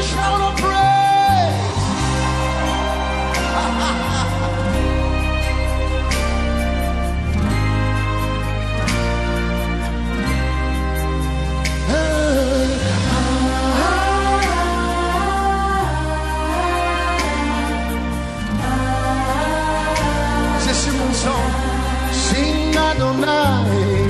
shout of praise. C'est mon chant. Sing Adonai.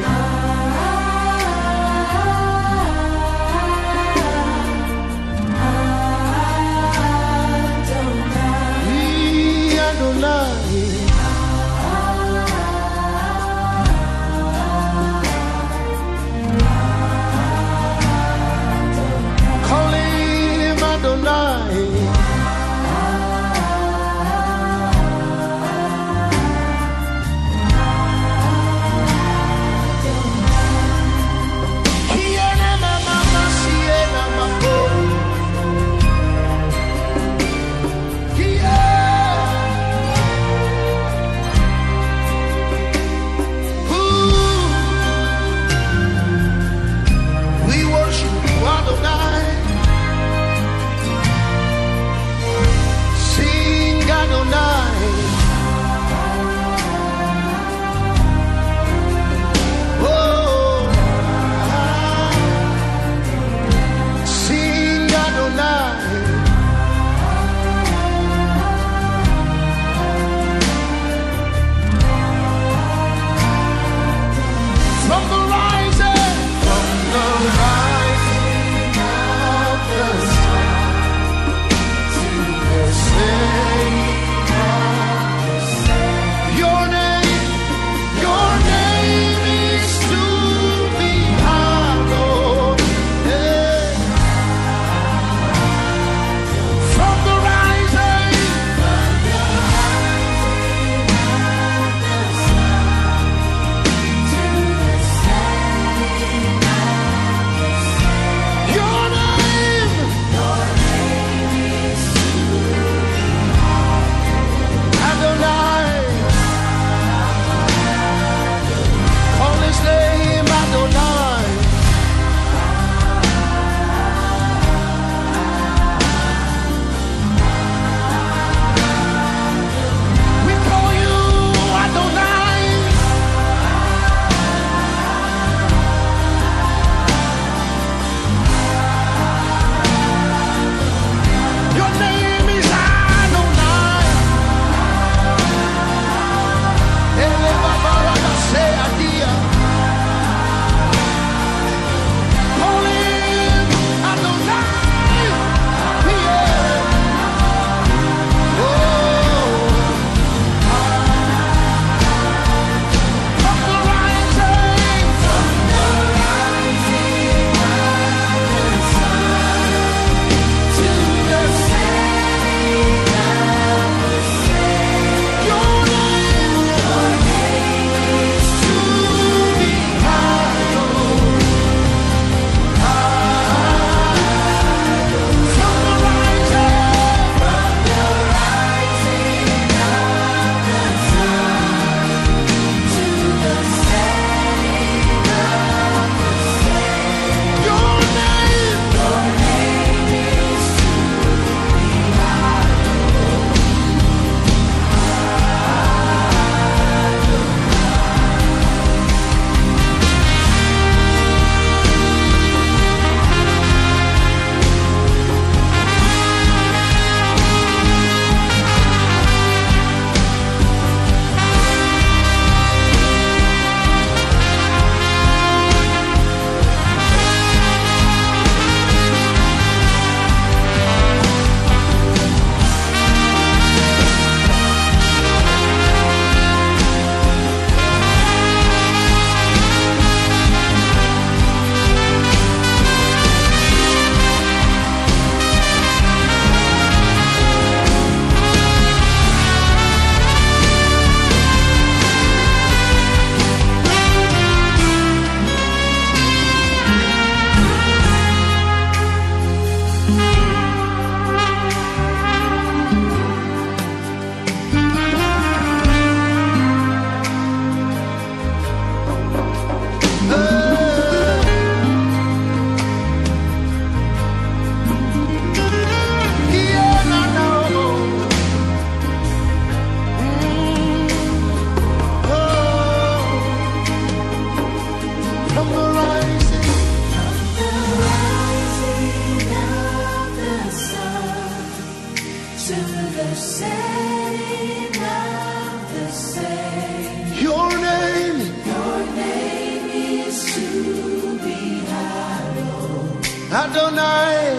Adonai,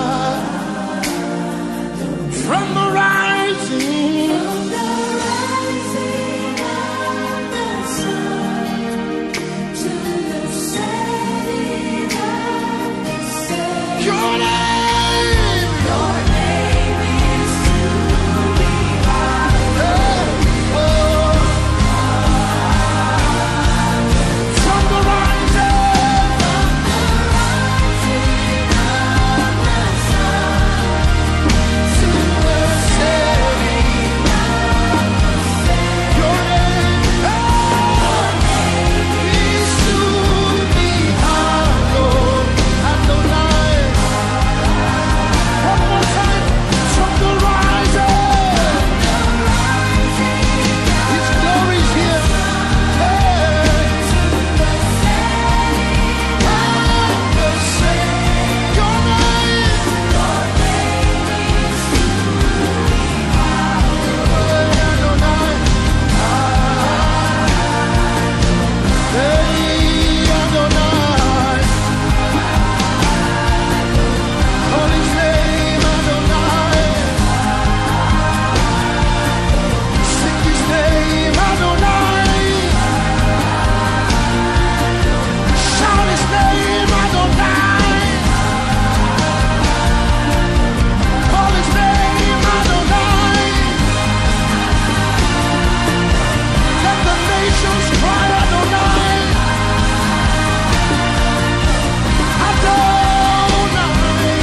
from the rising of the sun to the setting of the same. your name, Your name is to be hallowed. from the rising, To the setting your name is to be hallowed. Adonai, one more time, from the rising, His glory is here. Your name, Adonai, hey Adonai, call His name Adonai, sing His name Adonai, shout His name Adonai, call His name Adonai, let the nations cry Adonai, Adonai.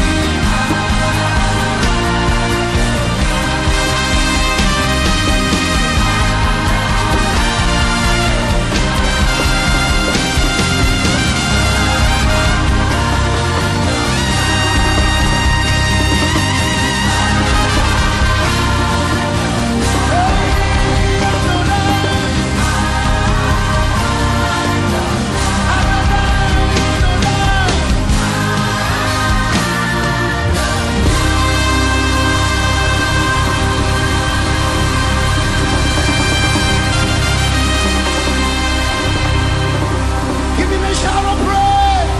Give him a shout of praise.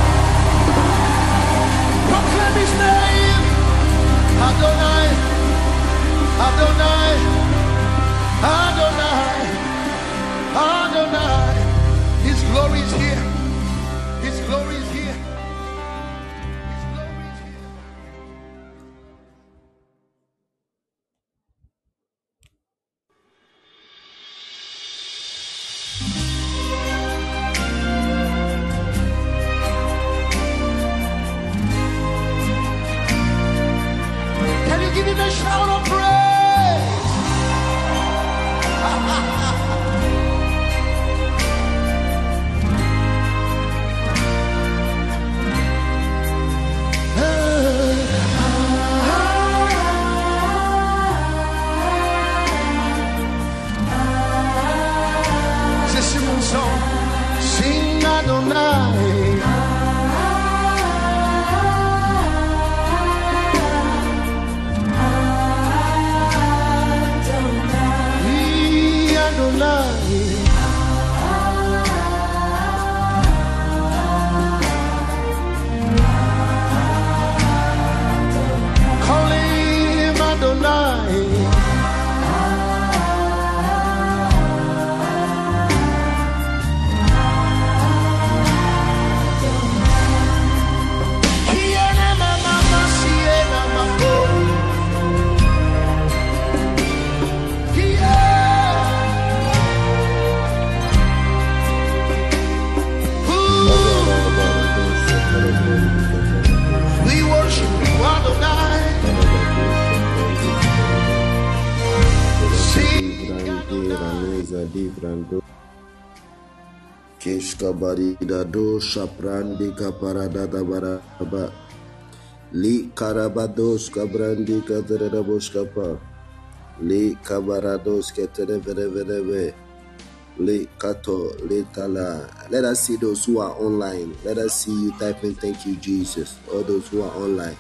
Proclaim his name. Adonai, Adonai, Adonai, Adonai. His glory is here. His glory is here. His glory is here. Can you give him a shout of praise? C'est mon son. Sing Adonai. Adonai. Call him Adonai. Kiena mama siena mako. We worship you, Adonai. Keshkabaridado shaprandi kaparada baraba li karabados kabrandi katereboskapa li kabarados keterevereve li kato li tala. Let us see those who are online. Let us see you typing thank you Jesus. All those who are online.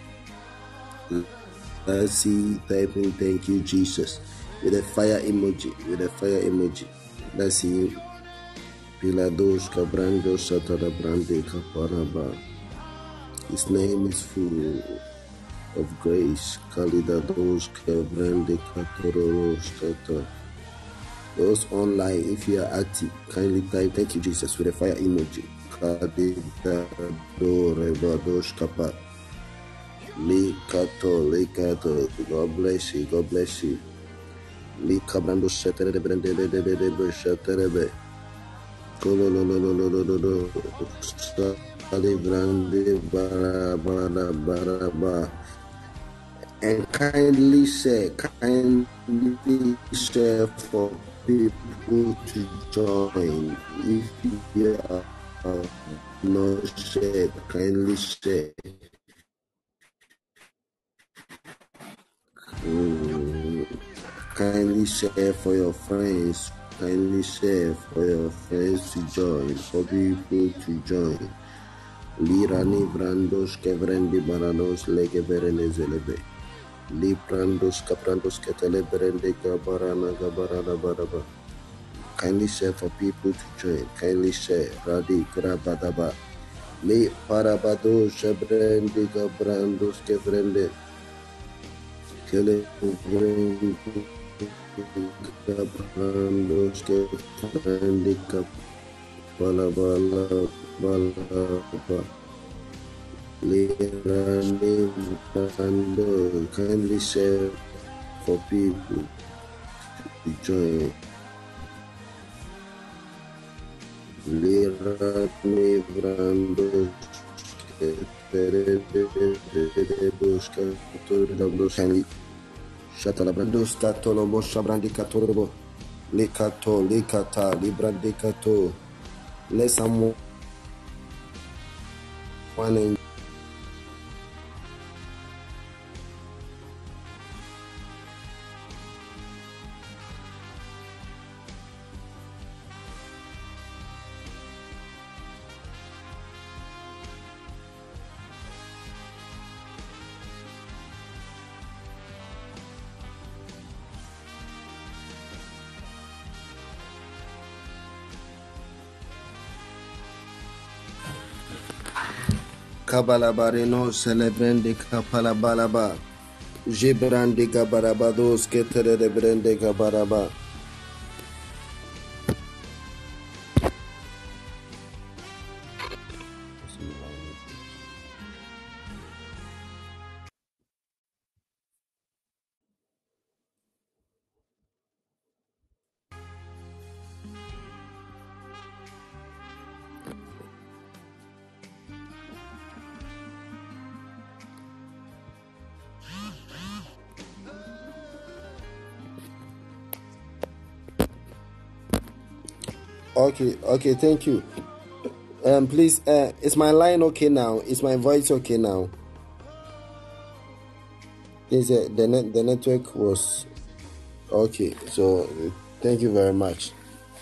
Let us see you typing thank you Jesus with a fire emoji. Let's see you. Pilados Cabrandos Satada Brande Caparaba His name is full of grace. Kalidados Kevrende Katoros Kata. Those online, if you are active, kindly type thank you Jesus with a fire emoji. Kadidado Rebados Kapa. Likato. God bless you. God bless you. Likabrando Shetere Brende Sheterebe. Kolololololololo. Salibrande Baraba. And kindly share for people to join. If you are not shared, kindly share. Kindly share for your friends. Kindly share for your friends to join. For people to join. Lirani brandos kevrendi baranos lege berenezelebe. Li brandos kaprandos ketele berende gabarana baraba. Kindly share for people to join. Kindly share. Radi grabadaba. Li parabado shebrende gabrandos kevrende. Kele gabrandos kevrende balaba. Lirani brando. Kindly share for people to join. Lirani brando. Kindly Shatalabrando Statolo Moshabrandi Catorobo Likato Likata Librandi Cato. Let someone in Kabalabarino celebrande kapalabalaba. Jibrande gabarabados ketere de brande gabaraba. Okay, thank you. Please, is my line okay now? Is my voice okay now? The network was okay, so thank you very much.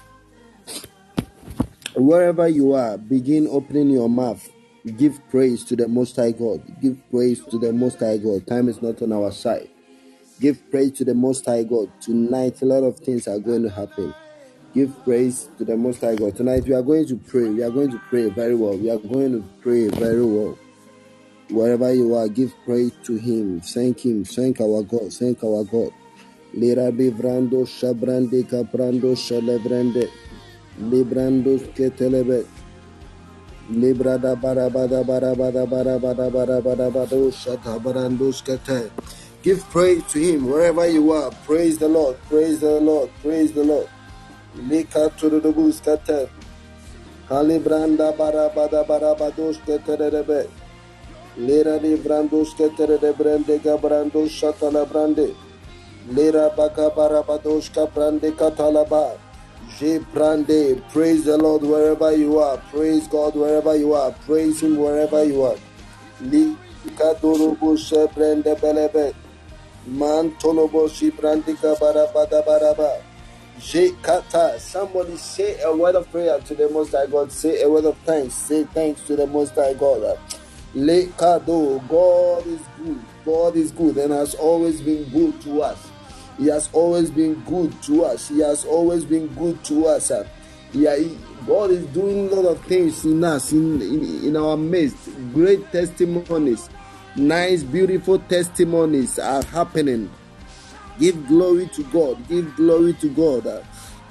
Wherever you are, begin opening your mouth. Give praise to the Most High God. Give praise to the Most High God. Time is not on our side. Give praise to the Most High God. Tonight, a lot of things are going to happen. Give praise to the Most High God. Tonight, we are going to pray. We are going to pray very well. We are going to pray very well. Wherever you are, give praise to Him. Thank Him. Thank our God. Thank our God. Lirabi brando shabrande caprando shalebrande. Librando ketelebe. Librada barabada barabada barabada barabada barabada shatabrando skete. Give praise to Him wherever you are. Praise the Lord. Praise the Lord. Praise the Lord. Lika to the buskate. Halibranda barabada barabados keterebe. Lera de brandos ketere brande gabrando shatala brande. Lera baka barabados kabrande katalaba. Je brande. Praise the Lord wherever you are. Praise God wherever you are. Praise Him wherever you are. Lika dorobo she brande belebe. Man tolobo shi brande barabada baraba. Je kata. Somebody say a word of prayer to the Most High God. Say a word of thanks. Say thanks to the Most High God. Lekado. God is good. God is good and has always been good to us. He has always been good to us. He has always been good to us. Yeah, God is doing a lot of things in us, in our midst. Great testimonies, nice, beautiful testimonies are happening. Give glory to God. Give glory to God.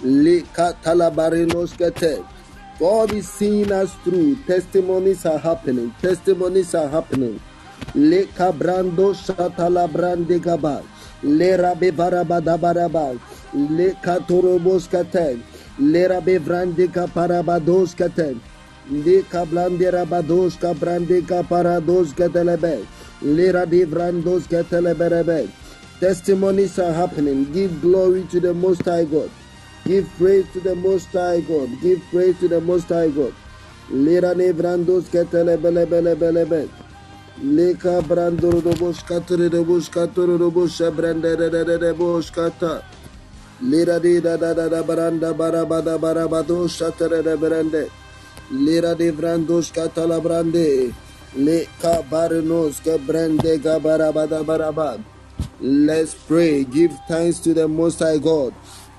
God is seeing us through. Testimonies are happening. Testimonies are happening. Le cabrando shatala brande gaba. Le rabe barabada baraba. Le catorobos caten. Le rabe brande caparabados caten. Le cablande rabados cabrande caparados catelebe. Le rabe brandos catelebe. Testimonies are happening. Give glory to the Most High God. Give praise to the Most High God. Give praise to the Most High God. Lera ne brandos ketele bele bele bele bele. Leka brando robos katore robos katore robos brande de bos kata. Lera di da baranda barabada barabado shatere de brande. Lera de brandos katala brande. Leka barnos ke brande gabarabada barabad. Let's pray. Give thanks to the Most High God.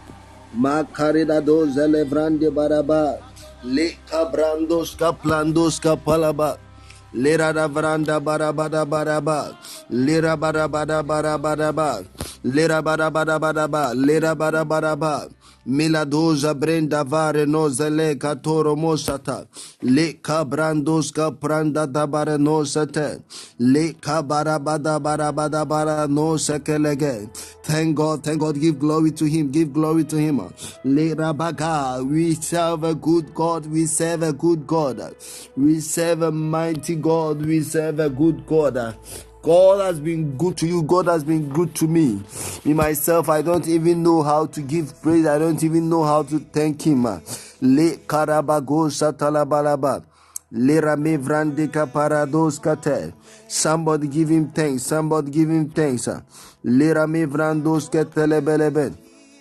Makarida do zelevrande baraba. Le cabrandos caplandos capalaba. Lera da vranda barabada baraba. Lera barabada barabada. Lera barabada baraba. Lera barabada. Miladoza brenda vare no zele katoro mosata. Le cabrandos capranda da bare no sete. Le cabarabada barabada bara no sekelege. Thank God, give glory to Him, give glory to Him. Le rabaga, we serve a good God, we serve a good God. We serve a mighty God, we serve a good God. God has been good to you. God has been good to me. Me, myself, I don't even know how to give praise. I don't even know how to thank Him. Le karabago satalabalaba. Le rame vrandika parados kate. Somebody give Him thanks. Somebody give Him thanks. Le rame vrandos ketelebelebe.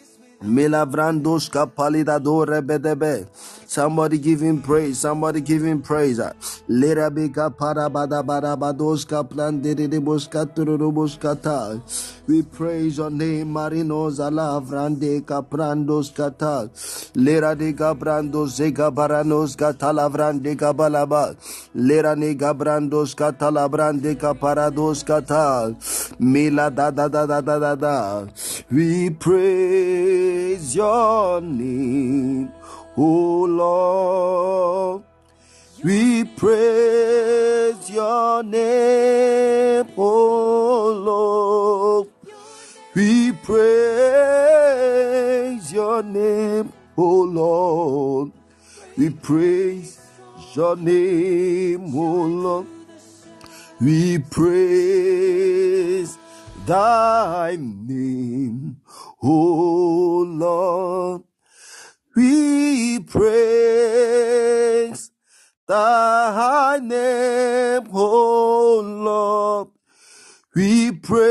Milavrandos kapalidadore bedebe. Somebody give Him praise. Somebody give Him praise. Lerabika parabada barabados kaplan dedebos katurubos kata. We praise Your name, Marinos alavrande kaprandos kata. Lerade gabrandos zegabaranos katalavrande gabalaba. Lerane gabrandos katalabrande kaparados kata. Mila da da da da da da da. We praise Your name, O Lord. We praise Your name, O Lord. We praise Your name, O Lord. We praise Your name, O Lord. We praise Thy name, O Lord. We praise Thy name, O Lord. We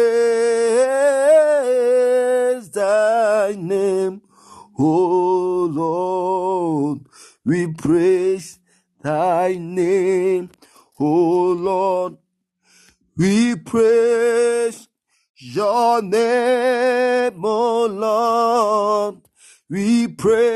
praise Thy name, O Lord. We praise Thy name, O Lord. We praise Your name, O Lord. We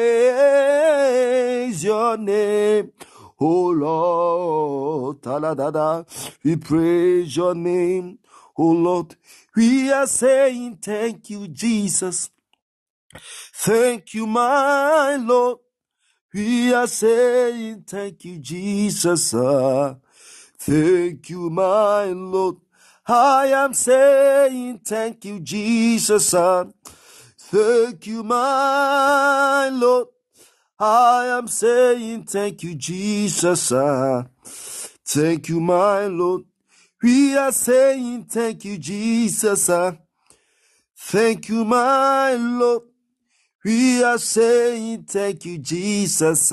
praise Your name, O Lord. Taladada. We praise Your name, O Lord. We are saying thank You, Jesus. Thank You, my Lord. We are saying thank You, Jesus. Thank You, my Lord. I am saying thank You, Jesus. Thank You, my Lord. I am saying thank You, Jesus. Thank You, my Lord. We are saying thank You, Jesus. Thank You, my Lord. We are saying thank You, Jesus.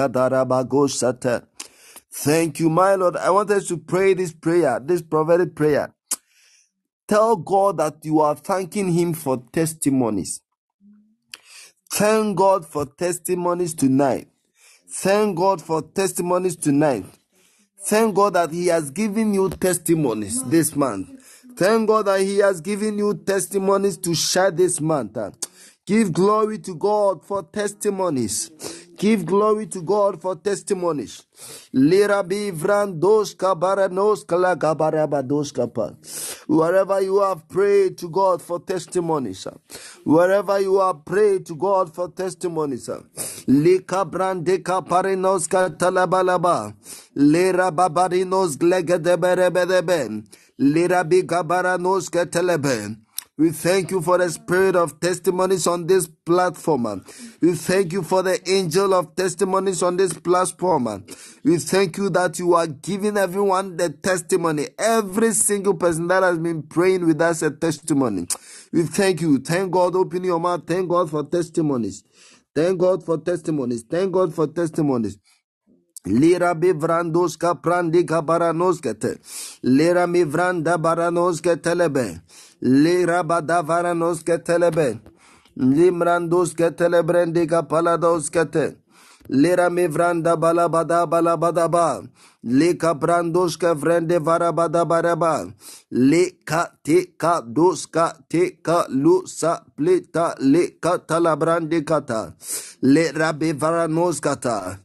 Thank You, my Lord. I want us to pray this prayer, this prophetic prayer. Tell God that you are thanking Him for testimonies. Thank God for testimonies tonight. Thank God for testimonies tonight. Thank God that He has given you testimonies this month. Thank God that He has given you testimonies to share this month. Give glory to God for testimonies. Give glory to God for testimonies. Lirabi vrandos kabaranos kalagabarabados kapa. Wherever you have prayed to God for testimonies, wherever you have prayed to God for testimonies, Lika brande kaparinos katalabalaba, Lira babarinos glegedeberebedebe, Lirabi gabaranos katelebe. We thank you for the spirit of testimonies on this platform. We thank you for the angel of testimonies on this platform. We thank you that you are giving everyone the testimony. Every single person that has been praying with us a testimony. We thank you. Thank God. Open your mouth. Thank God for testimonies. Thank God for testimonies. Thank God for testimonies. Lira bivrandos kaprandi kabaranos kete. Lira mivranda baranos ketelebe. Lira badavaranos ketelebe. Limrandos ketelebrandi kapalados kete. Lira mivranda balabada balabadaba. Lika brandos kevrende varabada baraba. Lika tika doska tika lusa plita lika talabrandi kata. Lira bivaranos kata.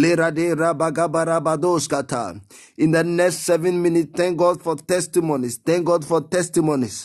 In the next 7 minutes, thank God for testimonies. Thank God for testimonies.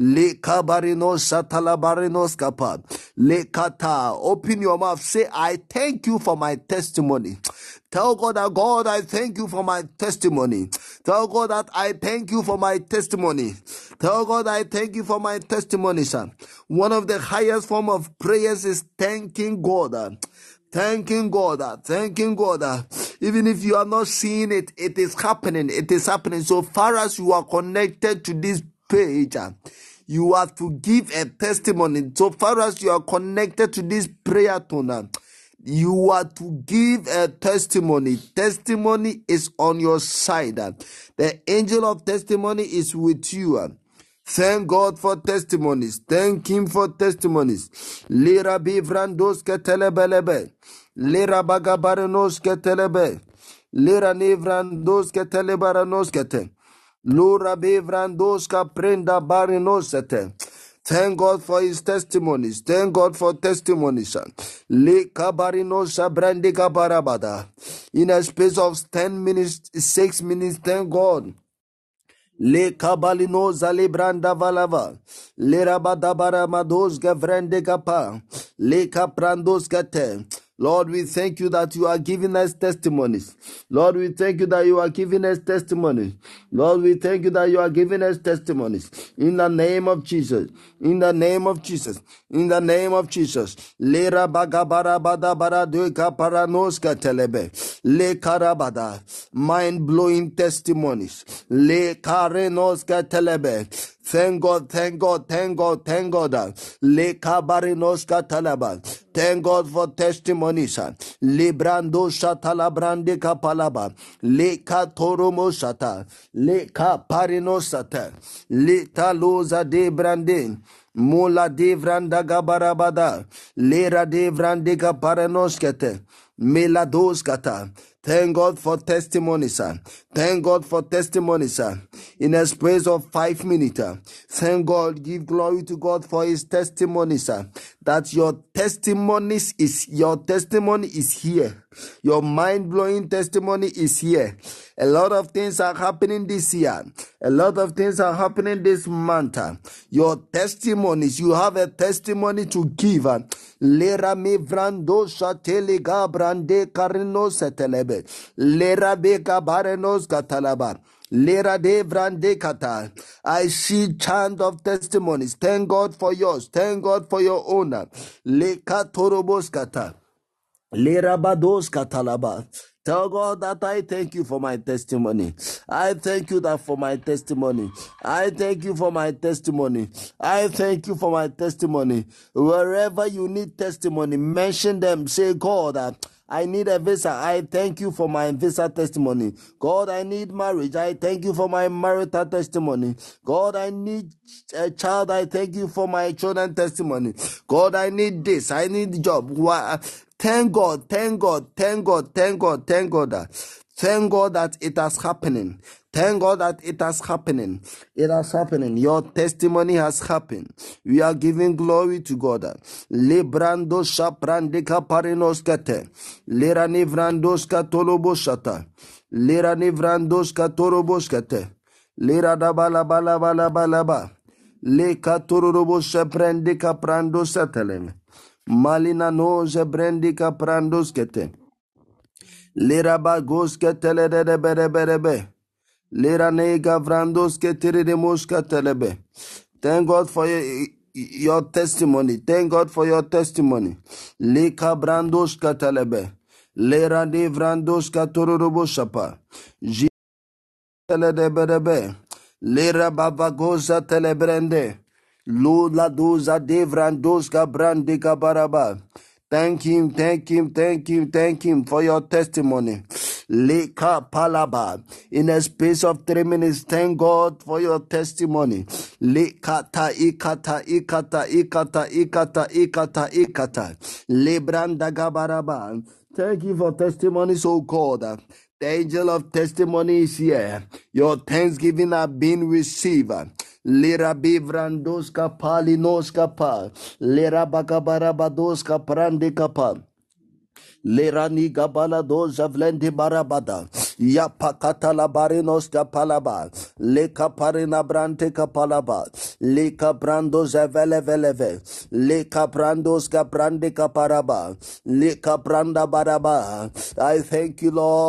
Open your mouth. Say, I thank you for my testimony. Tell God that, God, I thank you for my testimony. Tell God that I thank you for my testimony. Tell God I thank you for my testimony, sir. One of the highest form of prayers is thanking God. Thanking God, thanking God. Even if you are not seeing it, it is happening. It is happening. So far as you are connected to this page, you have to give a testimony. So far as you are connected to this prayer tone, you are to give a testimony. Testimony is on your side. The angel of testimony is with you. Thank God for testimonies. Thank Him for testimonies. Lira bivrandos ketelebelebe. Lira bagabaranos ketelebe. Lira nivrandos ketelebaranos kete. Lura bivrandos kaprenda barinosete. Thank God for His testimonies. Thank God for testimonies. Le kabarinosa brandi kabarabada. In a space of 10 minutes, 6 minutes, thank God. Le kabalino zalibranda valava. Le rabadabara mados gavrende kapa. Le kaprandos kate. Lord, we thank you that you are giving us testimonies. Lord, we thank you that you are giving us testimonies. Lord, we thank you that you are giving us testimonies. In the name of Jesus. In the name of Jesus. In the name of Jesus. Le rabagabara badabara duka paranoska telebe. Le karabada. Mind-blowing testimonies. Le karenoska telebe. Thank God, thank God, thank God, thank God. Le kabarinoska talaba. Thank God for testimonies. Le brando shatala brande kapalaba. Le katoromo shata. Le kaparinosata. Le taloza de brande. Mola de vranda gabarabada. Lera de vrande kaparanoskete. Melados kata. Thank God for testimonies, sir. Thank God for testimonies, sir. In a space of 5 minutes, thank God, give glory to God for His testimonies, sir. That your testimony is here. Your mind-blowing testimony is here. A lot of things are happening this year. A lot of things are happening this month. Your testimonies, you have a testimony to give. Lera me vrando shateliga brande karino setelebe. Lera beka barenos katalaba. Lera de vrande kata. I see chant of testimonies. Thank God for yours. Thank God for your owner. Leka torobos kata. Lera bados katalaba. Tell God that I thank you for my testimony. I thank you that for my testimony. I thank you for my testimony. I thank you for my testimony. Wherever you need testimony, mention them. Say, God, I need a visa. I thank you for my visa testimony. God, I need marriage. I thank you for my marital testimony. God, I need a child. I thank you for my children testimony. God, I need this. I need job. Thank God, thank God, thank God, thank God, thank God. Thank God that it has happening. Thank God that it has happening. It has happening. Your testimony has happened. We are giving glory to God. Lebrando shaprandika parinoskate. Lera nivrandoska toloboshata. Lera nivrandoska toroboskate. Lera da bala bala bala bala ba. Le katorobo shaprandika prandosatelem. Malina no zebrandika prandoskete. Lera bagoskete le de bere bere be. Lera nega vrandoske tiride moska telebe. Thank God for your testimony. Thank God for your testimony. Leka brandoska telebe. Lera de vrandoska tororobo shapa. Jitele de berebe. Lera babagoza telebrende. Lula doza de vrandoska brandika baraba. Thank him, thank him, thank him, thank him for your testimony. Leka palaba. In a space of 3 minutes, thank God for your testimony. Lekata ikata ikata ikata ikata ikata ikata. Lebranda gabaraba. Thank you for testimonies, oh God. The angel of testimony is here. Your thanksgiving are being received. Lera bivrandoska palinoska pa. Lera bakabarabadoska prandika pa. Lerani gabala doza vlendi barabada. Ya pakata la barinos kapalaba. Leka parina brante kapalaba. Leka brandos vele veleve. Leka brandos kaprande kaparaba. Leka branda baraba. I thank you,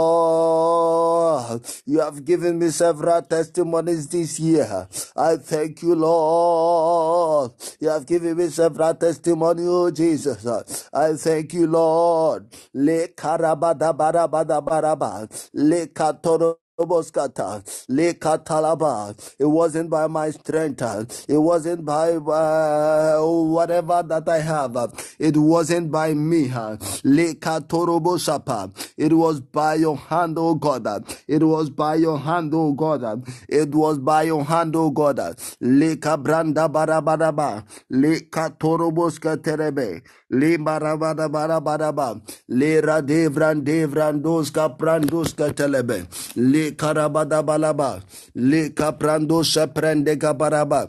Lord. You have given me several testimonies this year. I thank you, Lord. You have given me several testimonies, oh Jesus. I thank you, Lord. Le karabada barabada baraba. Le katoro. Le katalaba. It wasn't by my strength. It wasn't by whatever that I have. It wasn't by me. Le katorobo shapa. It was by your hand, oh God. It was by your hand, oh God. It was by your hand, oh God. Le kabranda barabadaba. Le katorobo skaterebe. Le barabada barabadaba. Le radevran devrandos kaprandos katelebe. Le karabada balaba. Le kaprando shaprende kabaraba.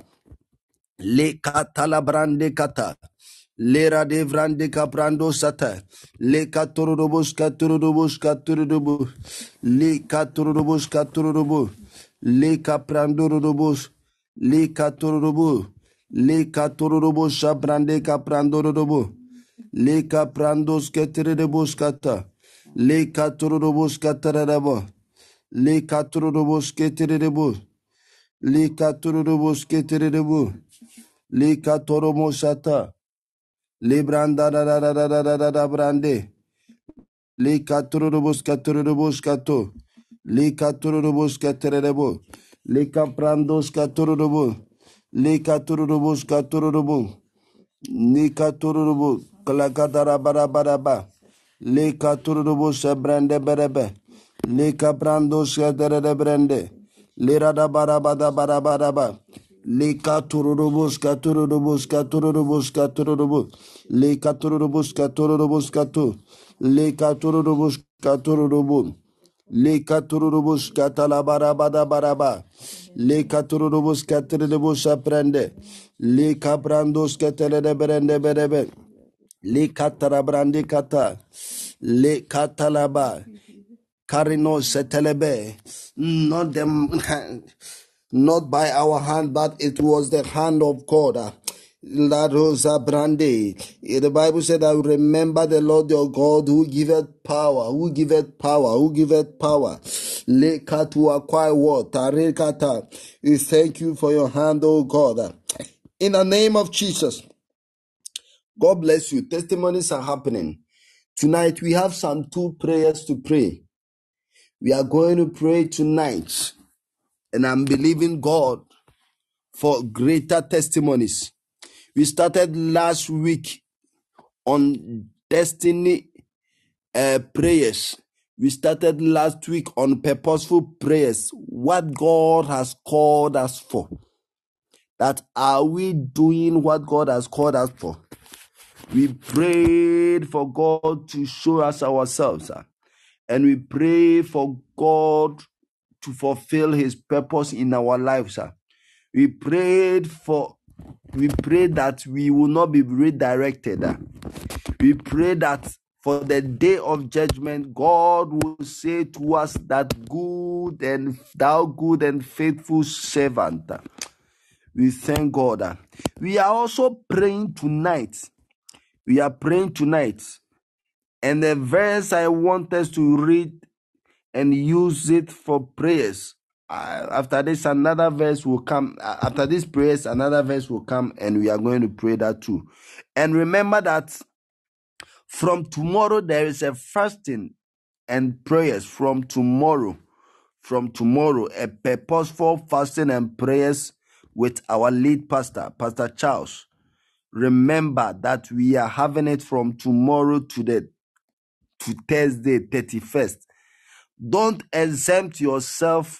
Le katalabrande kata. Le radevrande kaprando sata. Le katurubus katurubus katurubu. Le katurubus katurubu. Le kaprandurubus. Le katurubu. Le katurubu shabrande kaprandurubu. Le kaprandos keterebus kata. Le katurubus katarabo. Le katurubus keterebu. Le katurubus keterebu. Le katoromosata. Le branda da da da da da da da da brande. Le katurubus katurubus kato. Le katurubus katerebo. Le kaprandos katurubu. Le katurubus katurubu. Le katurubu. Kalakadara barabaraba. Le katurubus brande berebe. Le kaprandos katerebe brande. Le rada barabada barabaraba. Le katurubus katurubus katurubus katurubu. Le katurubus katurubus katu. Le katurubus katurubu. Le katurubus katalabara bada baraba. Le katurubus katurubus aprende. Le kabrandos katelede berende berebe. Le katarabrandi kata. Le katalaba. Karino setelebe. Not them. Not by our hand, but it was the hand of God. La Rosa Brande. The Bible said, I will remember the Lord your God who giveth power, who giveth power, who giveth power. Leka to acquire what? Tarekata. We thank you for your hand, oh God. In the name of Jesus. God bless you. Testimonies are happening. Tonight we have some 2 prayers to pray. We are going to pray tonight. And I'm believing God for greater testimonies. We started last week on destiny prayers. We started last week on purposeful prayers. What God has called us for. That are we doing what God has called us for? We prayed for God to show us ourselves. And we pray for God to fulfill his purpose in our lives. We prayed that we will not be redirected. We pray that for the day of judgment, God will say to us that thou good and faithful servant. We thank God. We are also praying tonight. And the verse I want us to read and use it for prayers. After this, another verse will come. After these prayers, another verse will come, and we are going to pray that too. And remember that from tomorrow, there is a fasting and prayers from tomorrow. A purposeful fasting and prayers with our lead pastor, Pastor Charles. Remember that we are having it from tomorrow to Thursday, 31st. Don't exempt yourself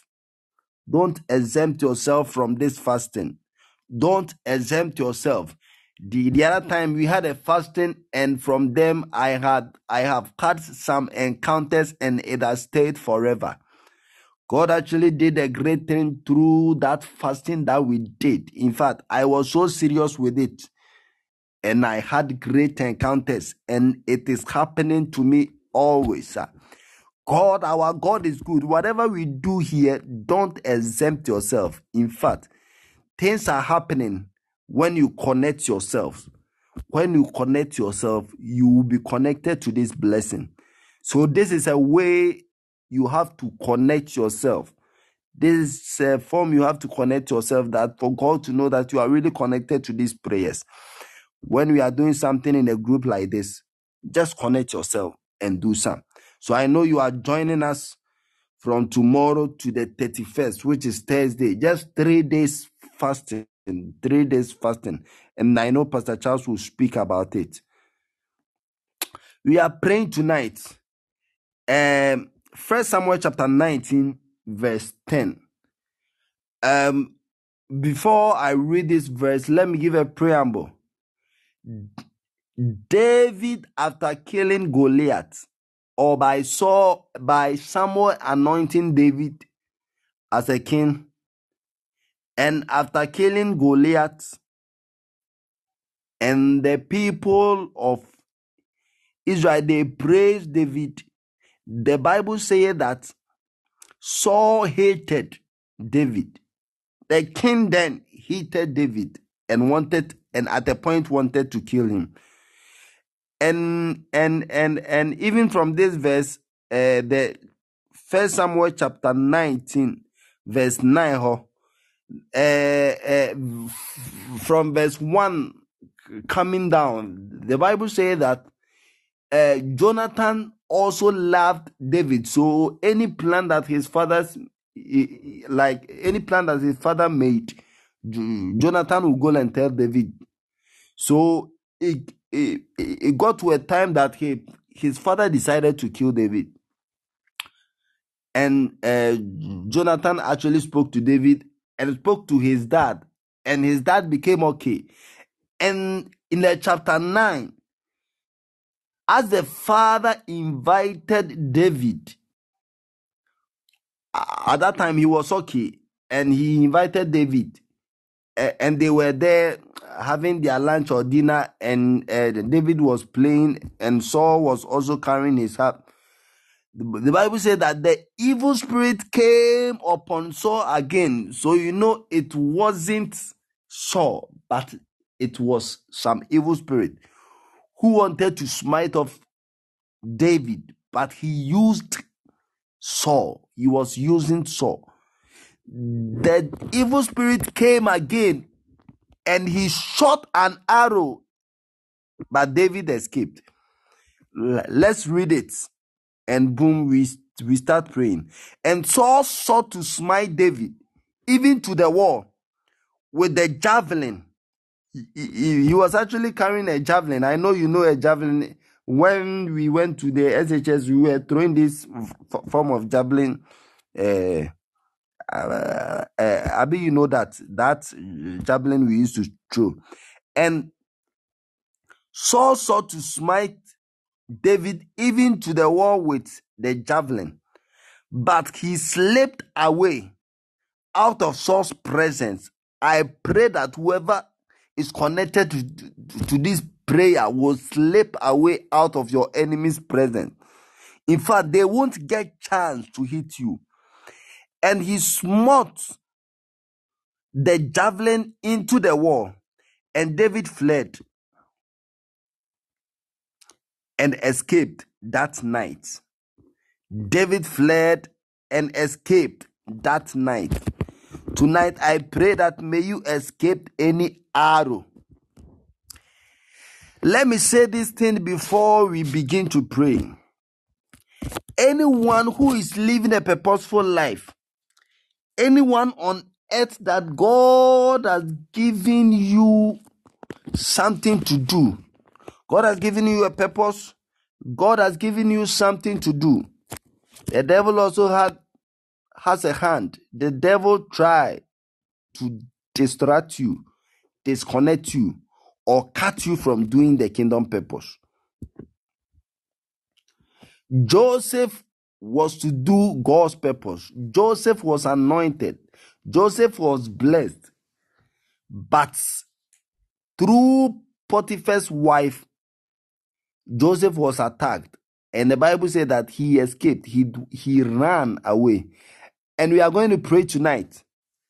from this fasting. Don't exempt yourself. The other time we had a fasting, and from them I have had some encounters, and it has stayed forever. God actually did a great thing through that fasting that we did. In fact, I was so serious with it, and I had great encounters, and it is happening to me always. God, our God is good. Whatever we do here, don't exempt yourself. In fact, things are happening when you connect yourself. When you connect yourself, you will be connected to this blessing. So this is a way you have to connect yourself. This is a form you have to connect yourself, that for God to know that you are really connected to these prayers. When we are doing something in a group like this, just connect yourself and do some. So I know you are joining us from tomorrow to the 31st, which is Thursday. Just 3 days fasting. 3 days fasting. And I know Pastor Charles will speak about it. We are praying tonight. 1 Samuel chapter 19, verse 10. Before I read this verse, let me give a preamble. David, after killing Goliath, or by Samuel anointing David as a king, and after killing Goliath, and the people of Israel, they praised David. The Bible says that Saul hated David. The king then hated David and at a point wanted to kill him. And even from this verse, the 1 Samuel chapter 19, verse 9, from verse 1 coming down, the Bible says that Jonathan also loved David. So any plan that his father made, Jonathan will go and tell David. So it got to a time that his father decided to kill David. And Jonathan actually spoke to David and spoke to his dad. And his dad became okay. And in the chapter 9, as the father invited David, at that time he was okay. And he invited David. And they were there having their lunch or dinner, and David was playing, and Saul was also carrying his harp. The Bible said that the evil spirit came upon Saul again. So it wasn't Saul, but it was some evil spirit who wanted to smite off David, but he used Saul. He was using Saul. The evil spirit came again, and he shot an arrow, but David escaped. Let's read it. And boom, we start praying. And Saul sought to smite David, even to the wall, with the javelin. He was actually carrying a javelin. I know you know a javelin. When we went to the SHS, we were throwing this form of javelin. Abi, you know that javelin we used to throw. And Saul sought to smite David even to the wall with the javelin. but he slipped away out of Saul's presence. I pray that whoever is connected to this prayer will slip away out of your enemy's presence. In fact, they won't get chance to hit you. And he smote the javelin into the wall, and David fled and escaped that night. David fled and escaped that night. Tonight, I pray that may you escape any arrow. Let me say this thing before we begin to pray. Anyone who is living a purposeful life, anyone on earth that God has given you something to do, God has given you a purpose, God has given you something to do. The devil also has a hand. The devil tries to distract you, disconnect you, or cut you from doing the kingdom purpose. Joseph was to do God's purpose. Joseph was anointed. Joseph was blessed. But through Potiphar's wife, Joseph was attacked. And the Bible said that he escaped. He ran away. And we are going to pray tonight.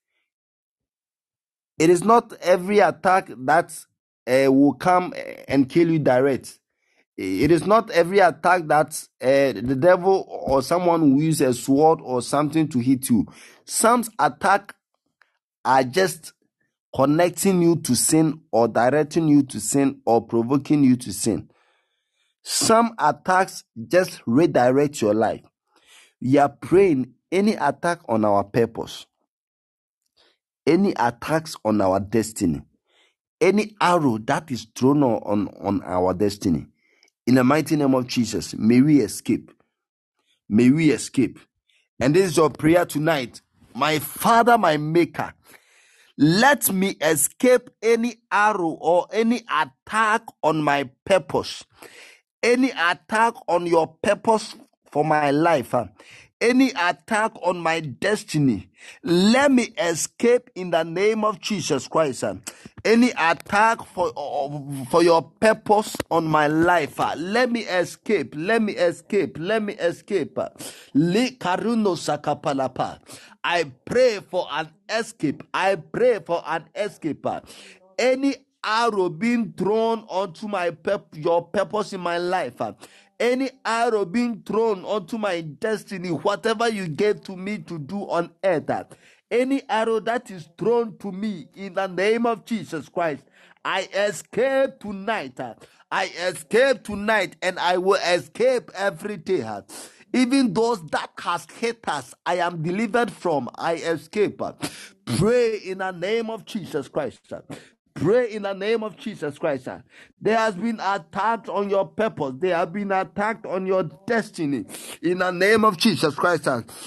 It is not every attack that will come and kill you direct. It is not every attack that the devil or someone will use a sword or something to hit you. Some attacks are just connecting you to sin or directing you to sin or provoking you to sin. Some attacks just redirect your life. We are praying any attack on our purpose, any attacks on our destiny, any arrow that is thrown on our destiny. In the mighty name of Jesus, may we escape. May we escape. And this is your prayer tonight. My Father, my Maker, let me escape any arrow or any attack on my purpose. Any attack on your purpose for my life. Any attack on my destiny. Let me escape in the name of Jesus Christ. Any attack for your purpose on my life. Let me escape. Let me escape. Let me escape. Likaruno sakapalapa. I pray for an escape. I pray for an escape. Any arrow being thrown onto your purpose in my life. Any arrow being thrown onto my destiny, whatever you gave to me to do on earth, any arrow that is thrown to me in the name of Jesus Christ, I escape tonight. I escape tonight, and I will escape every day. Even those that has hit us, I am delivered from. I escape. Pray in the name of Jesus Christ. Pray in the name of Jesus Christ. There has been attacked on your purpose. They have been attacked on your destiny. In the name of Jesus Christ.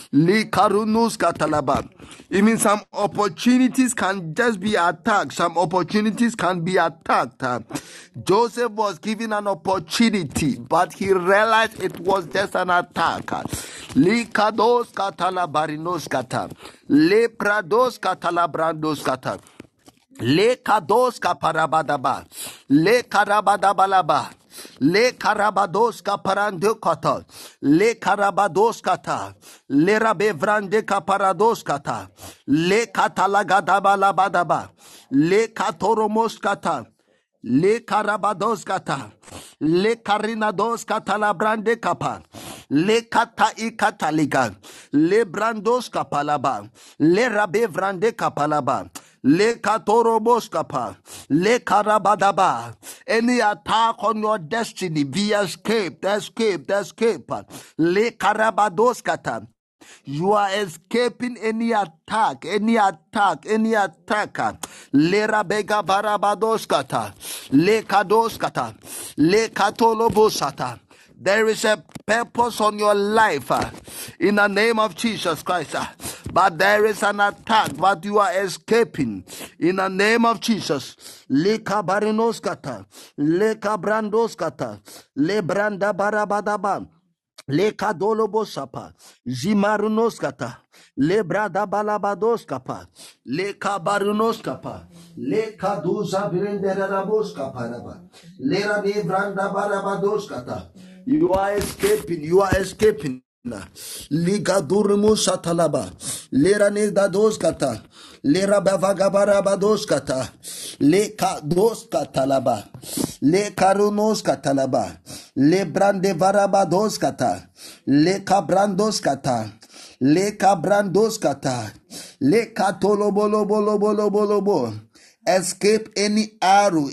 Even some opportunities can just be attacked. Some opportunities can be attacked. Joseph was given an opportunity, but he realized it was just an attack. Likados katala barinos kata. Leprados katala brandos kata. Le kados kaparabadaba, le karabadabalaba, le karabados kaparando kata, le karabados kata, le rabevrande kaparados kata, le katalagadabalabadaba, le katoromos kata, le karabados kata, le karinados katalabrande kapa, le kata ikataliga, le brandos kapalaba, le rabevrande kapalaba. Le katoroboskapa, le karabadaba. Any attack on your destiny, be escaped. Le karabadoskata. You are escaping any attack. Le rabega barabadoskata, le kadoskata, le katolobosata. There is a purpose on your life in the name of Jesus Christ. But there is an attack, but you are escaping in the name of Jesus. Le kabarinoskata, le kabrandoskata, le branda barabadaba. Le kadolobo sapa, jimarunos kata, le brada balabados kapa, le kabarunos kapa, le kaduza brinderabos kaparaba, le rabi branda barabados kata. You are escaping, you are escaping. Liga durmu satalaba, lera ne dados kata, lera bavagabarabados kata, le kados katalaba, le karunos katalaba, le brande varabados kata, le kabrandos kata, le kabrandos kata, le katolobolobolobolobo. Escape any arrow,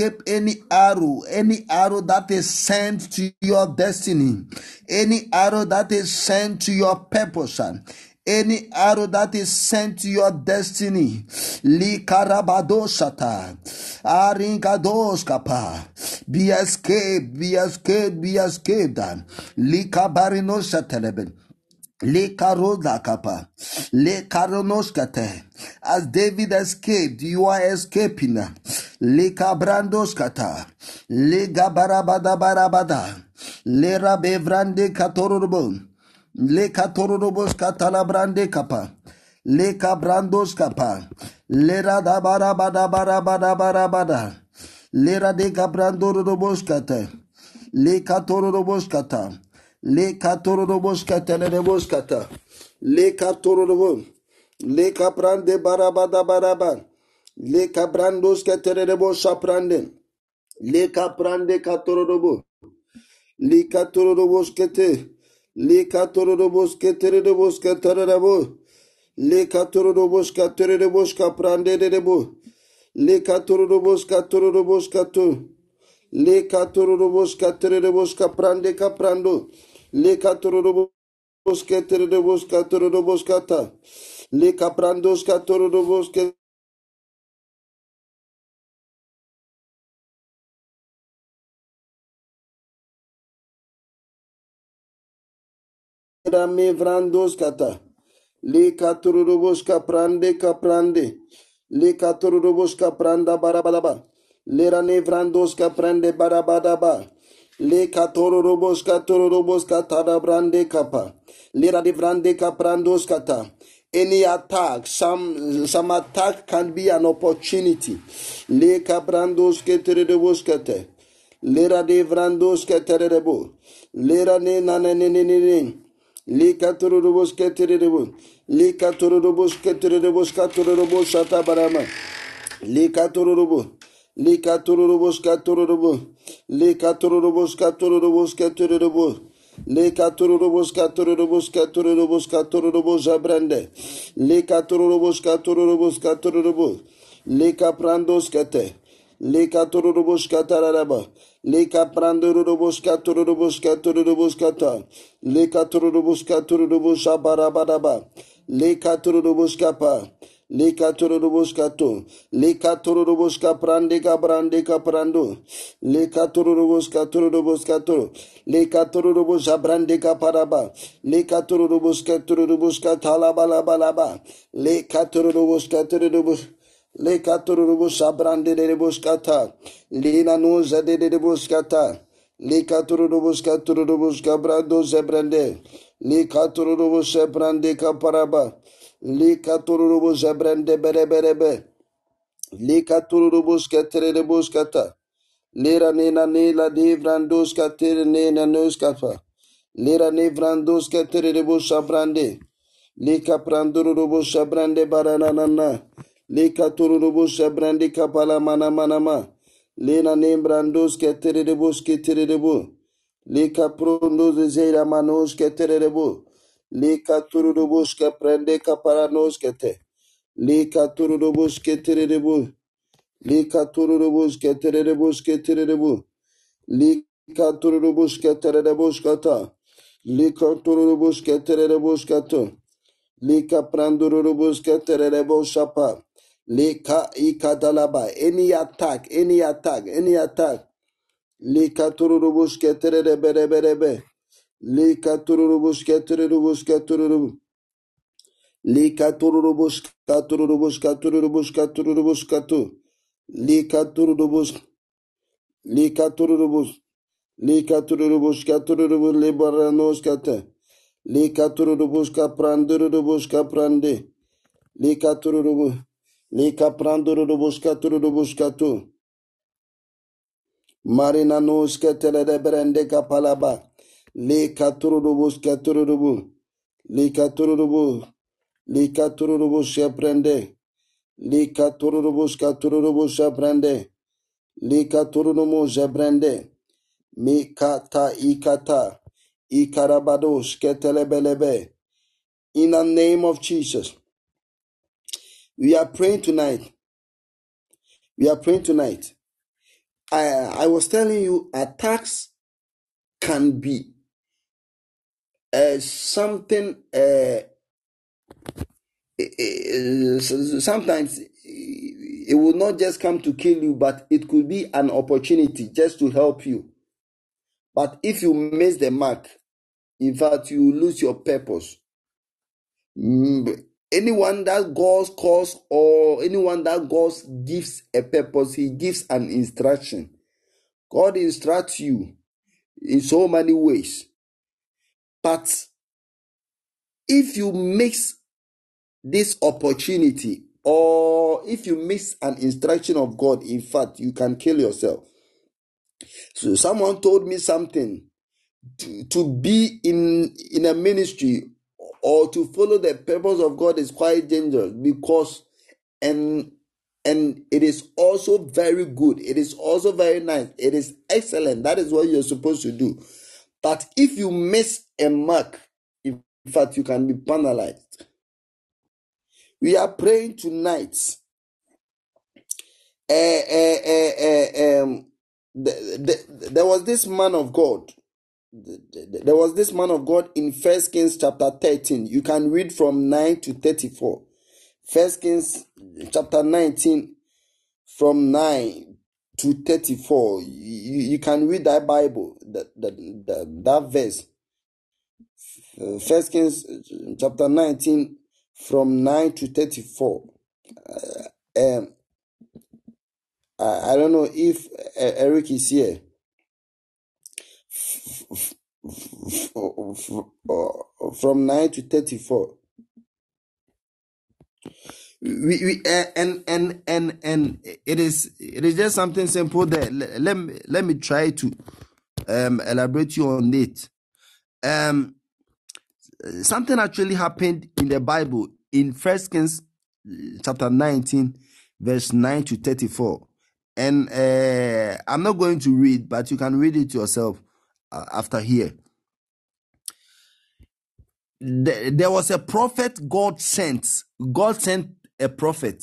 any arrow that is sent to your destiny, any arrow that is sent to your purpose, any arrow that is sent to your destiny. Li karabadosata, aringados kapa, be escaped, be escaped, be escaped. Li kabarinosa. Le karoda kapa, le karonoskate. As David escaped, you are escaping. Le kabrandoskata, le gabarabada barabada, le rabevrande katorobo, le katorobos katalabrande kapa, le kabrandos kapa, le radabarabada barabada barabada, le rade kabrandorobos kate, le katorobos kata. Le katorobos katanebos kata. Le katorobo. Le kaprande barabada baraba. Le kabrandos katanebos saprande. Le kaprande katorobo. Le katorobos kete. Le katorobos keterebos katarabo. Le katorobos katerebos kaprande debo. Le katorobos kato. Le katorobos katerebos kaprande kaprando. Le katorobos keterebos katorobos kata. Le kaprandos katorobos keterame vrandos kata. Le katorobos kaprande. Le katorobos kapranda barabalaba. Le rane vrandos kaprande barabadaba. Le katorobos katada brande kapa. Le rade vrande kaprandos kata. Any attack, some attack can be an opportunity. Le kaprandos keterebos kate. Le rade vrandos keterebo. Le rane nanene. Le katorobos keterebo. Le katorobos keterebos katorobos shatabarama. Le katorobo. Le katorobos katorobo. Le katorobos katorobo. Le katorobos abrande. Le katorobos katorobo. Le kaprandos kate. Le katorobos kataraba. Le kaprandorobos kata. Le katorobos abarabadaba. Le katorobos kapa. Le katorobos kato. Le katorobos kaprande kaprando. Le katorobos kato. Le katorobos abrande kaparaba. Le katorobos katalabalabalaba. Le katorobos. Le katorobos abrande de boskata. Le nanuza de boskata. Le katorobos kabrando zebrande. Le katorobos zebrande kaparaba. Le katorobos zebrande bereberebe. Le katorobos katerebos kata. Le ranena ne la de vrandos katere ne nanos kafa. Le rane vrandos katerebos abrande. Le kaprandorobos abrande baranana. Le katorobos abrande kapala manama. Le nane brandos katerebos keterebo. Le kaprondos zeira manos keterebo. Le katorobos kaprande kaparanos kete. Le katorobos keterebo. Le katorobos keterebo. Le katorobos keterebos kata. Le katorobos keterebos kata. Lika prandurubus keterebo shapa. Lika ikadalaba. Any attack. Lika turubus keterebe. Lika turubus keterubus. Lika turubus katu. Lika turubus. Lika turubushka turubu libaranoskate. Lika turubushka prandurubushka prande. Lika turubu. Lika prandurubushka turubushka tu. Marina noske telede brende kapalaba. Lika turubushka turubu. Lika turubu. Lika turubu sheprende. Lika turubushka turubu sheprende. Lika turumu sheprende. Mikata ikata. Ikarabados ketelebelebe. In the name of Jesus. We are praying tonight. We are praying tonight. I was telling you, attacks can be something. Sometimes it will not just come to kill you, but it could be an opportunity just to help you. But if you miss the mark, in fact, you lose your purpose. Anyone that God calls or anyone that God gives a purpose, He gives an instruction. God instructs you in so many ways. But if you miss this opportunity or if you miss an instruction of God, in fact, you can kill yourself. So someone told me something. To be in a ministry or to follow the purpose of God is quite dangerous because and it is also very good. It is also very nice. It is excellent. That is what you're supposed to do. But if you miss a mark, in fact, you can be penalized. We are praying tonight. There was this man of God. There was this man of God in 1 Kings chapter 13. You can read from 9 to 34. 1 Kings chapter 19 from 9 to 34. You can read that Bible, that verse. 1 Kings chapter 19 from 9 to 34. I don't know if Eric is here. From 9 to 34. And it is just something simple there. Let me try to elaborate you on it. Something actually happened in the Bible in 1 Kings chapter 19 verse 9 to 34. And I'm not going to read, but you can read it yourself after here. There was a prophet God sent. God sent a prophet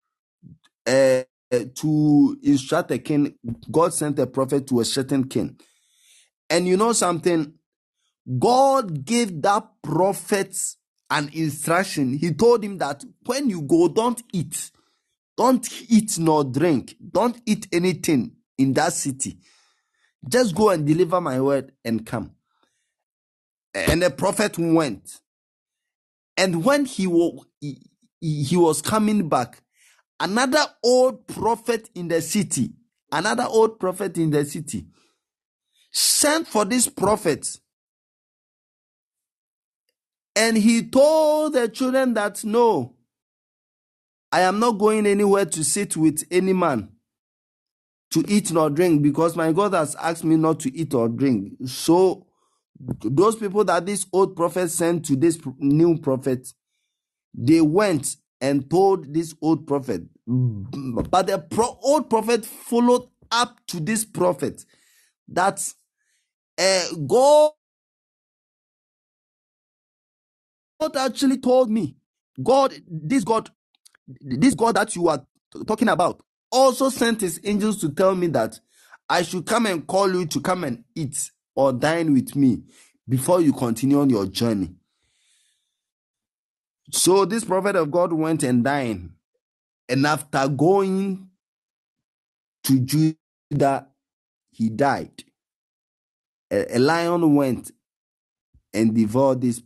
to instruct a king. God sent a prophet to a certain king. And you know something? God gave that prophet an instruction. He told him that when you go, don't eat nor drink. Don't eat anything in that city. Just go and deliver my word and come. And the prophet went. And when he was coming back, another old prophet in the city sent for this prophet. And he told the children that, no, I am not going anywhere to sit with any man to eat nor drink, because my God has asked me not to eat or drink. So those people that this old prophet sent to this new prophet, they went and told this old prophet. But the old prophet followed up to this prophet that God actually told me, this God that you are talking about also sent his angels to tell me that I should come and call you to come and eat or dine with me before you continue on your journey. So this prophet of God went and dined, and after going to Judah, he died. A lion went and devoured this.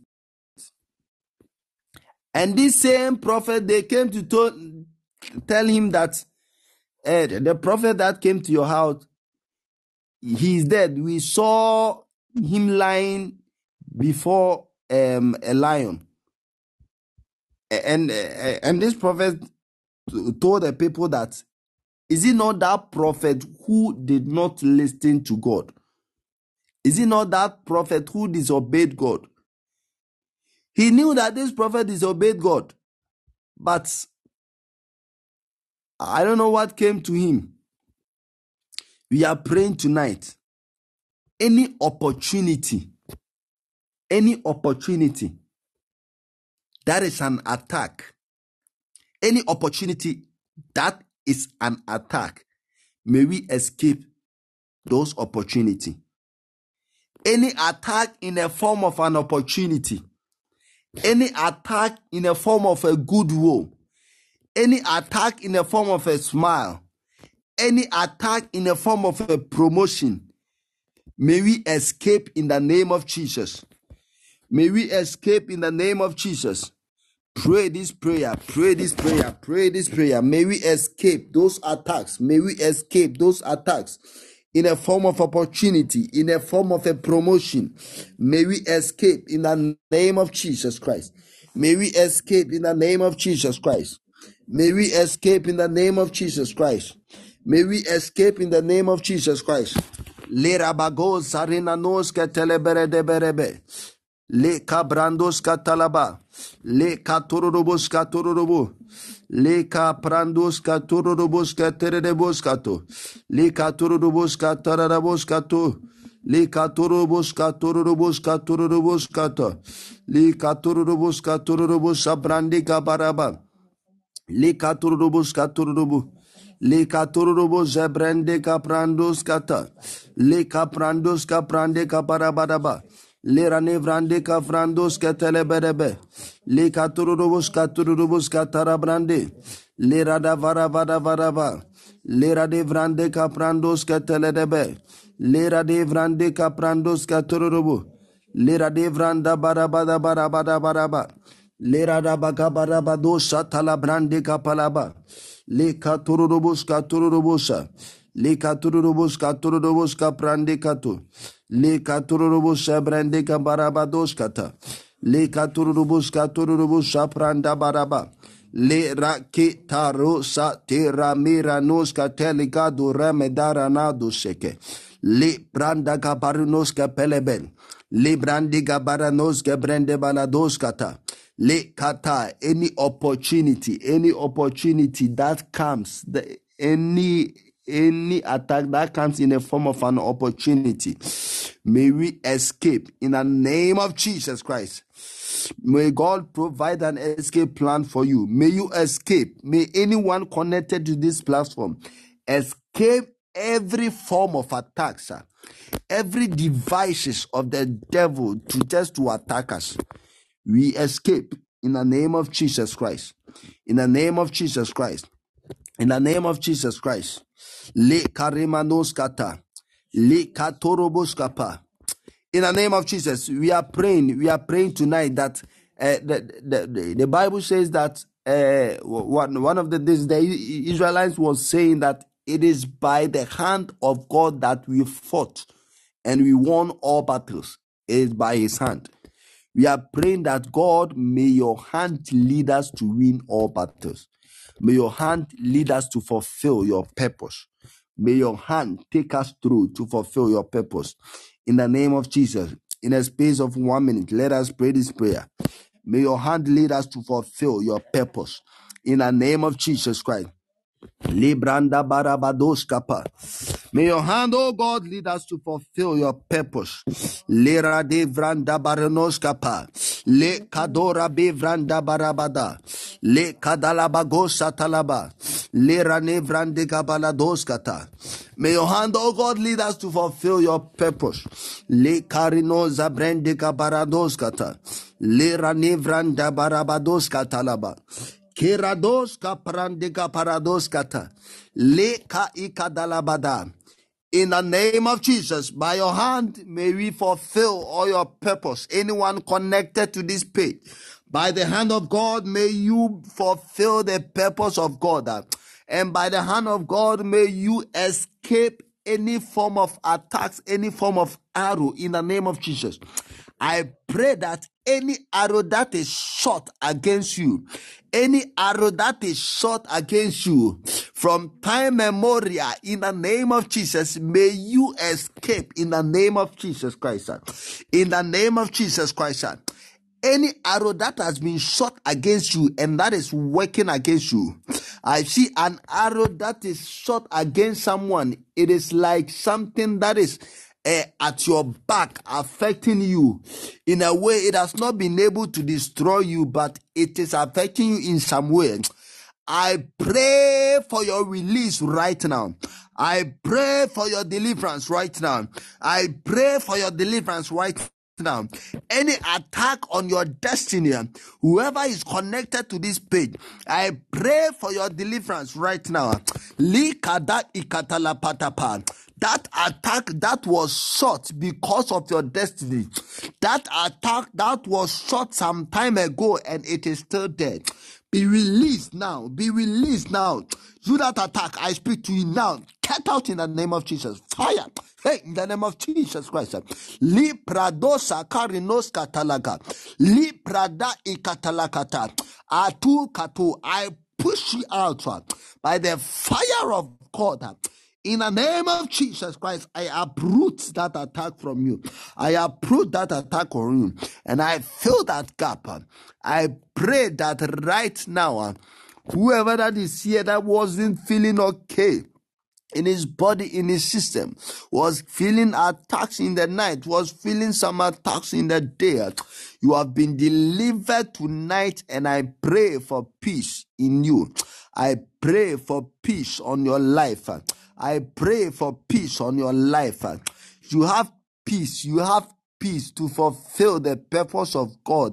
And this same prophet, they came to tell him that the prophet that came to your house he's dead. We saw him lying before a lion, and this prophet told the people that, is it not that prophet who did not listen to God? Is it not that prophet who disobeyed God? He knew that this prophet disobeyed God, but I don't know what came to him. We are praying tonight. Any opportunity that is an attack, any opportunity that is an attack, may we escape those opportunities. Any attack in the form of an opportunity, any attack in the form of a goodwill, any attack in the form of a smile, any attack in the form of a promotion, may we escape in the name of Jesus. May we escape in the name of Jesus. Pray this prayer, pray this prayer, pray this prayer. May we escape those attacks. May we escape those attacks in a form of opportunity, in a form of a promotion. May we escape in the name of Jesus Christ. May we escape in the name of Jesus Christ. May we escape in the name of Jesus Christ. May we escape in the name of Jesus Christ. Le rabago sarina nos ke telebere de berebe. Le cabrandos catalaba, le catorobos catorobo, le caprandos catorobos caterebos cato, le catorobos catarabos cato, le catorobos catorobos catorobos cato, le catorobos catorobos abrandi cabaraba, le catorobos catorobo. Le catorobos zebrande caprandos cata, le caprandos caprande caparabadaba. Le ranevrande kafrandos keteleberebe. Le katurubus katarabrande. Le radavara vada. Le radevrande kaprandos keteledebe. Le radevrande kaprandos katurubu. Le radevranda barabada. Le radabakabarabado satalabrande kapalaba. Le katurubus katurubusa. Le katurubus kaprande katu. Le katurubus sabrande kabarabados kata. Le katurubus sapranda baraba. Le rakitaro satira miranos kateligado remedara nado seke. Le branda gabarunos kapeleben. Le brandi gabaranos gabrande balados kata. Le kata, any opportunity that comes, any attack that comes in the form of an opportunity, may we escape in the name of Jesus Christ. May God provide an escape plan for you. May you escape. May anyone connected to this platform escape every form of attack, sir. Every devices of the devil to attack us. We escape in the name of Jesus Christ. In the name of Jesus Christ. In the name of Jesus Christ. Le karimanos kata. Le katorobos kapa. In the name of Jesus, we are praying tonight that the Bible says that one of the Israelites was saying that it is by the hand of God that we fought and we won all battles. It is by his hand. We are praying that God, may your hand lead us to win all battles. May your hand lead us to fulfill your purpose. May your hand take us through to fulfill your purpose. In the name of Jesus, in a space of 1 minute, let us pray this prayer. May your hand lead us to fulfill your purpose. In the name of Jesus Christ. Libranda barabados kapa. May your hand, oh God, lead us to fulfill your purpose. Lera de vranda baranos kapa. Le kadora be vranda barabada. Le kadalabagosa talaba. Lera ne vrande kabalados kata. May your hand, oh God, lead us to fulfill your purpose. Le karino zabrende kabarados kata. Lera ne vranda barabados katalaba. Kerados kaprandika parados kata. Le ka ikadalabada. In the name of Jesus, by your hand, may we fulfill all your purpose. Anyone connected to this page, by the hand of God, may you fulfill the purpose of God. And by the hand of God, may you escape any form of attacks, any form of arrow in the name of Jesus. I pray that any arrow that is shot against you, any arrow that is shot against you from time memorial, in the name of Jesus, may you escape in the name of Jesus Christ. In the name of Jesus Christ. Any arrow that has been shot against you and that is working against you. I see an arrow that is shot against someone. It is like something that is at your back, affecting you in a way. It has not been able to destroy you, but it is affecting you in some way. I pray for your release right now. I pray for your deliverance right now. I pray for your deliverance right now. Any attack on your destiny, whoever is connected to this page, I pray for your deliverance right now. Likada ikatala patapa. That attack that was shot because of your destiny, that attack that was shot some time ago and it is still there, be released now. Be released now. Through that attack, I speak to you now. Get out in the name of Jesus. Fire. Hey, in the name of Jesus Christ. Li pradosa karinos katalaga. Li prada ikatalakata. Atu katu. I push you out by the fire of God. In the name of Jesus Christ, I uproot that attack from you. I uproot that attack on you. And I fill that gap. I pray that right now, whoever that is here that wasn't feeling okay in his body, in his system, was feeling attacks in the night, was feeling some attacks in the day, you have been delivered tonight, and I pray for peace in you. I pray for peace on your life. I pray for peace on your life. You have peace. You have peace to fulfill the purpose of God.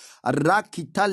I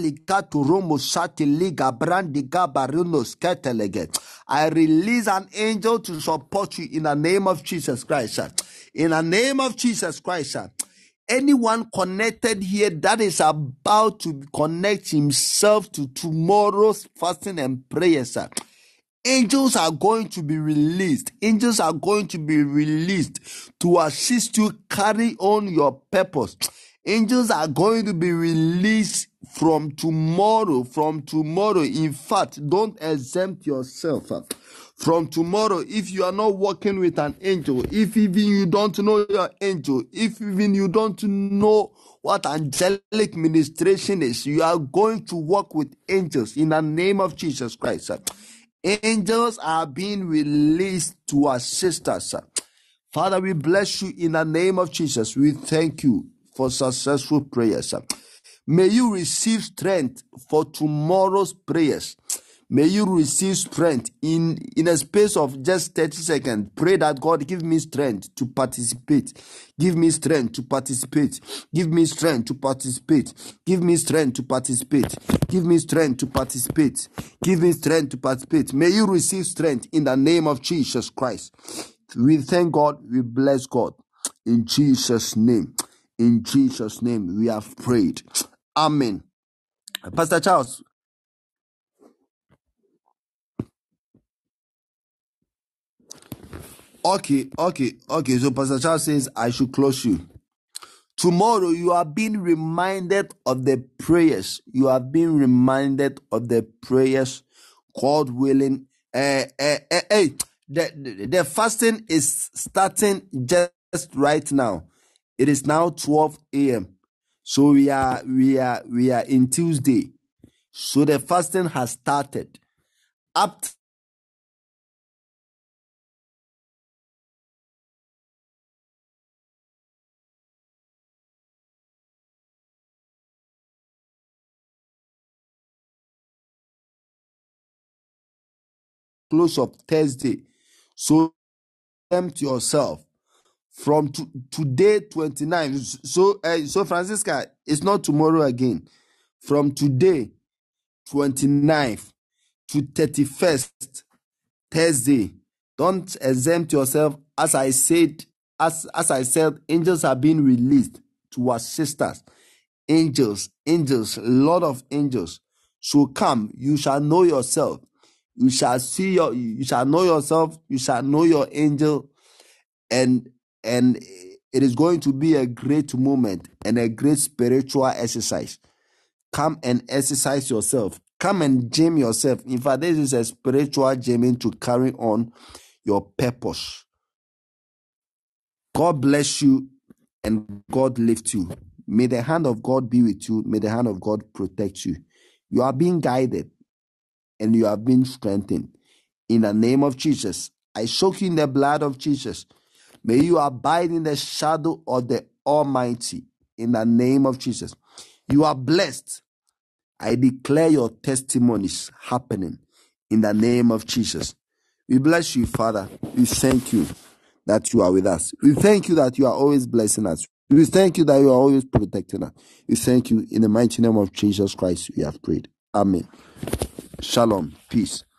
release an angel to support you in the name of Jesus Christ. In the name of Jesus Christ. Anyone connected here that is about to connect himself to tomorrow's fasting and prayers, angels are going to be released. Angels are going to be released to assist you carry on your purpose. Angels are going to be released from tomorrow. From tomorrow. In fact, don't exempt yourself. From tomorrow, if you are not working with an angel, if even you don't know your angel, if even you don't know what angelic ministration is, you are going to work with angels in the name of Jesus Christ. Angels are being released to assist us. Father, we bless you in the name of Jesus. We thank you for successful prayers. May you receive strength for tomorrow's prayers. May you receive strength in a space of just 30 seconds. Pray that God give me strength to participate. Give me strength to participate. Give me strength to participate. Give me strength to participate. Give me strength to participate. Give me strength to participate. May you receive strength in the name of Jesus Christ. We thank God. We bless God. In Jesus' name. In Jesus' name we have prayed. Amen. Pastor Charles. Okay. So Pastor Charles says I should close you. Tomorrow you are being reminded of the prayers. You are being reminded of the prayers. God willing. The fasting is starting just right now. It is now 12 a.m. So we are in Tuesday. So the fasting has started. Up close of Thursday. So tempt yourself from today 29. So Francisca, it's not tomorrow again. From today 29th to 31st Thursday. Don't exempt yourself. As I said, angels are being released to assist us. Angels, a lot of angels. So come, you shall know yourself. You shall know yourself. You shall know your angel. and it is going to be a great moment and a great spiritual exercise. Come and exercise yourself. Come and gym yourself. In fact, this is a spiritual gymming to carry on your purpose. God bless you and God lift you. May the hand of God be with you. May the hand of God protect you. You are being guided and you are being strengthened. In the name of Jesus, I soak you in the blood of Jesus. May you abide in the shadow of the Almighty. In the name of Jesus, you are blessed. I declare your testimonies happening in the name of Jesus. We bless you, Father. We thank you that you are with us. We thank you that you are always blessing us. We thank you that you are always protecting us. We thank you in the mighty name of Jesus Christ. We have prayed. Amen. Shalom. Peace.